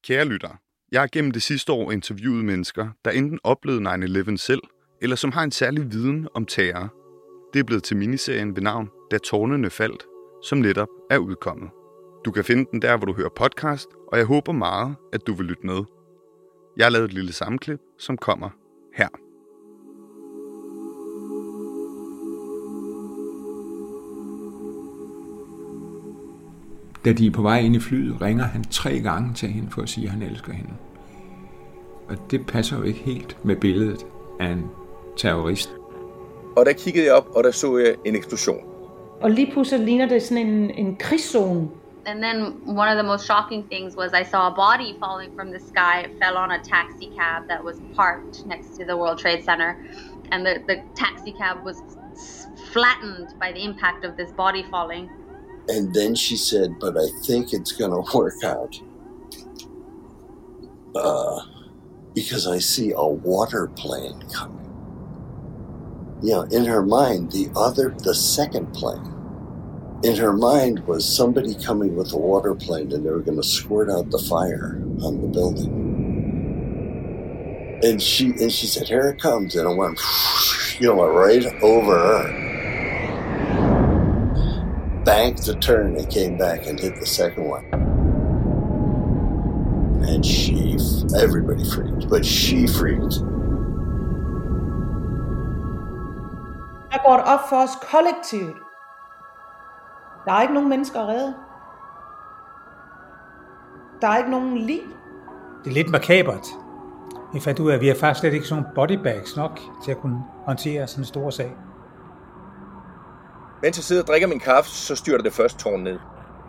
Kære lyttere, jeg har gennem det sidste år interviewet mennesker, der enten oplevede 9/11 selv, eller som har en særlig viden om terror. Det er blevet til miniserien ved navn Da tårnene faldt, som netop er udkommet. Du kan finde den der, hvor du hører podcast, og jeg håber meget, at du vil lytte med. Jeg har lavet et lille sammenklip, som kommer her. Da de er på vej ind i flyet, ringer han 3 gange til hende for at sige, at han elsker hende. Og det passer jo ikke helt med billedet af en terrorist. Og der kiggede jeg op, og der så jeg en eksplosion. Og lige pludselig ligner det sådan en krigszone. And then one of the most shocking things was I saw a body falling from the sky. It fell on a taxi cab that was parked next to the World Trade Center. And the taxi cab was flattened by the impact of this body falling. And then she said, but I think it's going to work out. Because I see a water plane coming. In her mind, the second plane, in her mind was somebody coming with a water plane and they were going to squirt out the fire on the building. And she said, here it comes. And it went, right over her. Banked the turn and came back and hit the second one. And everybody freaked, but she freaked. Der går det op for os kollektivt. Der er ikke nogen mennesker at redde. Der er ikke nogen liv. Det er lidt makabert. Vi fandt ud af, at vi har faktisk slet ikke sådan nogle bodybags nok til at kunne håndtere sådan en stor sag. Mens jeg sidder og drikker min kaffe, så styrter det første tårn ned.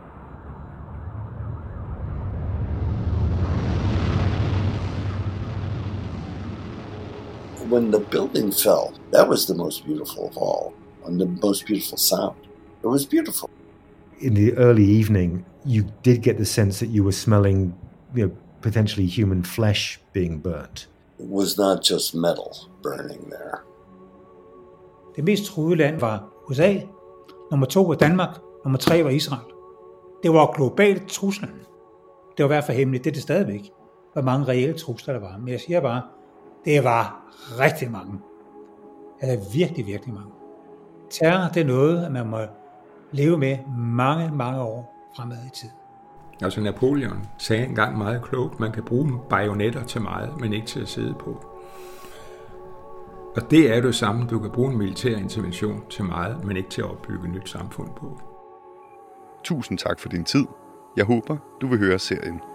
When the building fell, that was the most beautiful of all, and the most beautiful sound. It was beautiful. In the early evening, you did get the sense that you were smelling, potentially human flesh being burnt. It was not just metal burning there. Det mest truede land var USA, nummer 2 var Danmark, nummer 3 var Israel. Det var globalt truslen. Det var i hvert fald hemmeligt, det er det stadigvæk, hvor mange reelle trusler der var. Men jeg siger bare, det var rigtig mange. Altså virkelig, virkelig mange. Terror, det er noget, man må leve med mange, mange år fremad i tid. Altså Napoleon sagde engang meget klogt, man kan bruge bajonetter til meget, men ikke til at sidde på. Og det er det samme, du kan bruge en militær intervention til meget, men ikke til at opbygge et nyt samfund på. Tusind tak for din tid. Jeg håber, du vil høre serien